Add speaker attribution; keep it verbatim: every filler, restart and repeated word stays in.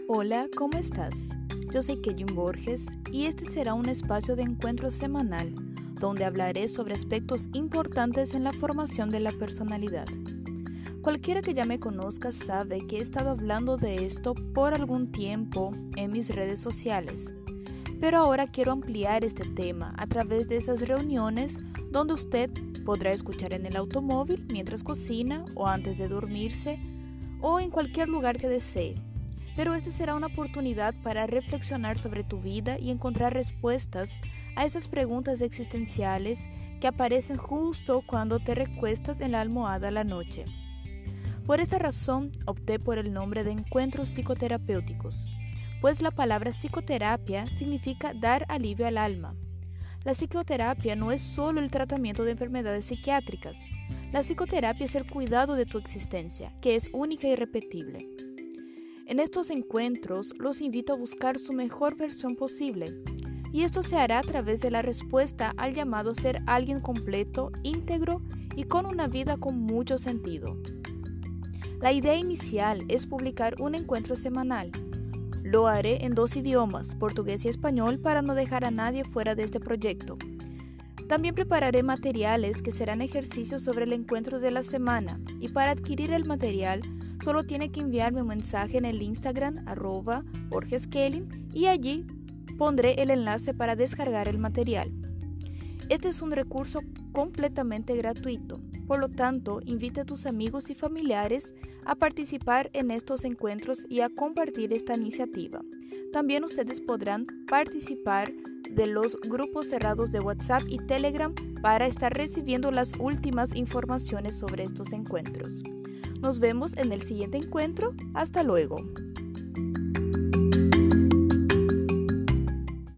Speaker 1: Hola, ¿cómo estás? Yo soy Kevin Borges y este será un espacio de encuentro semanal donde hablaré sobre aspectos importantes en la formación de la personalidad. Cualquiera que ya me conozca sabe que he estado hablando de esto por algún tiempo en mis redes sociales, pero ahora quiero ampliar este tema a través de esas reuniones donde usted podrá escuchar en el automóvil mientras cocina o antes de dormirse o en cualquier lugar que desee. Pero esta será una oportunidad para reflexionar sobre tu vida y encontrar respuestas a esas preguntas existenciales que aparecen justo cuando te recuestas en la almohada a la noche. Por esta razón opté por el nombre de encuentros psicoterapéuticos, pues la palabra psicoterapia significa dar alivio al alma. La psicoterapia no es solo el tratamiento de enfermedades psiquiátricas. La psicoterapia es el cuidado de tu existencia, que es única y irrepetible. En estos encuentros los invito a buscar su mejor versión posible, y esto se hará a través de la respuesta al llamado a ser alguien completo, íntegro y con una vida con mucho sentido. La idea inicial es publicar un encuentro semanal. Lo haré en dos idiomas, portugués y español, para no dejar a nadie fuera de este proyecto. También prepararé materiales que serán ejercicios sobre el encuentro de la semana, y para adquirir el material solo tiene que enviarme un mensaje en el Instagram arroba borgeskelin y allí pondré el enlace para descargar el material. Este es un recurso completamente gratuito, por lo tanto invita a tus amigos y familiares a participar en estos encuentros y a compartir esta iniciativa. También ustedes podrán participar de los grupos cerrados de WhatsApp y Telegram para estar recibiendo las últimas informaciones sobre estos encuentros. Nos vemos en el siguiente encuentro. Hasta luego.